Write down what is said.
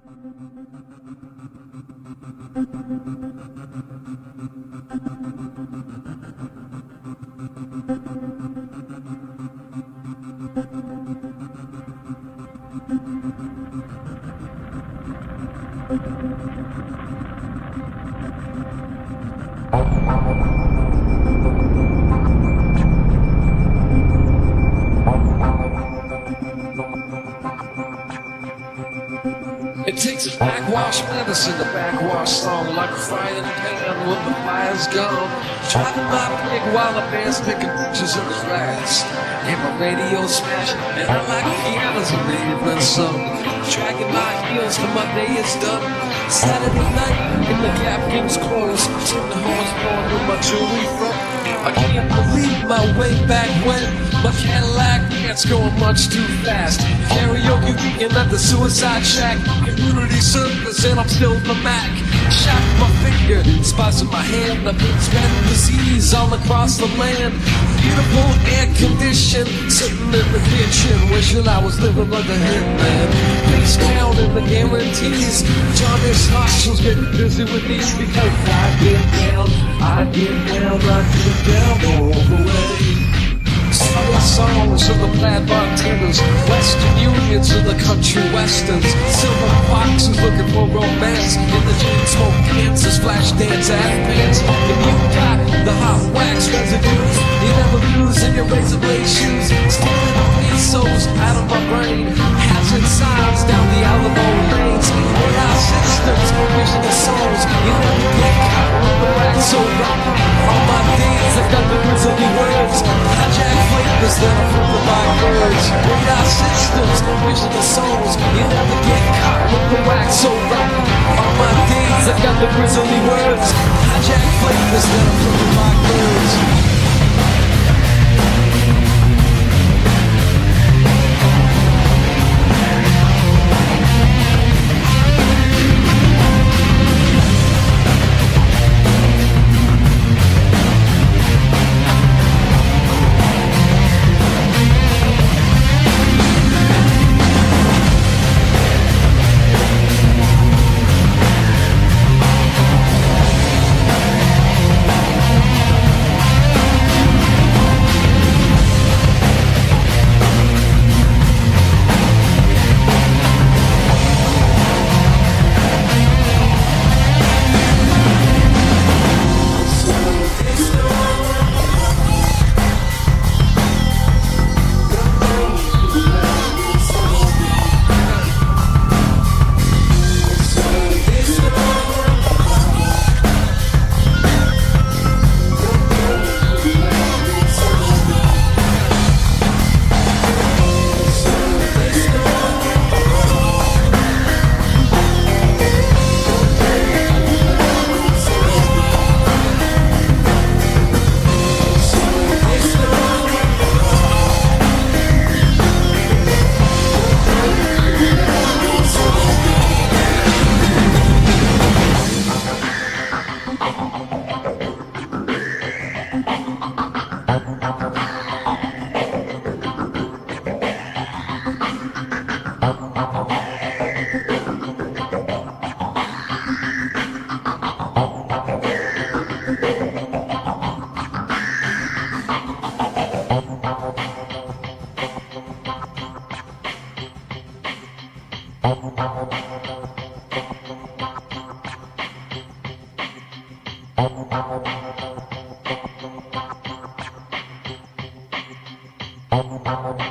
It takes a backwash medicine, a backwash song, like a frying pan when the fire's gone. Driving my pig while the band's picking pictures in the grass, and my radio smashing, and I like pianos in the evening sun. Dragging my heels till my day is done. Saturday night in the Gap King's clothes, till the horns blowing with my jewelry from. I can't believe my way back when my Cadillac pants going much too fast. Karaoke weekend at the Suicide Shack, community service, and I'm still the Mac. Shot my finger, spots in my hand, I've been spreading disease all across the land. Beautiful air conditioned, sitting in the kitchen, wishing I was living like a hitman. Face counting the guarantees, Johnny's nostrils getting busy with these, because I get down like the devil away. Southern songs of the plaid bartenders, Western Unions of the country westerns, silver foxes looking for romance in the chain smoke Kansas flash dance pants. If you got the hot wax residues, you never lose in your razor blade shoes. Stealing the pesos out of my brain, hazard signs down the Alamo lanes. AI systems, vision of souls, you never get caught with the wax so wrong. All my days I've got the grizzly words, hijack flavors that are full of my words. Radar systems, vision of souls, you never get caught with the wax so wrong. All my days I've got the grizzly words, hijack flavors that are full of my words. Thank you.